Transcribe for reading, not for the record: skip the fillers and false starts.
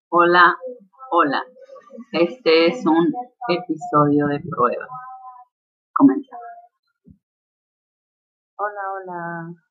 Hola, hola. Este es un episodio de prueba. Comenzamos. Hola, hola.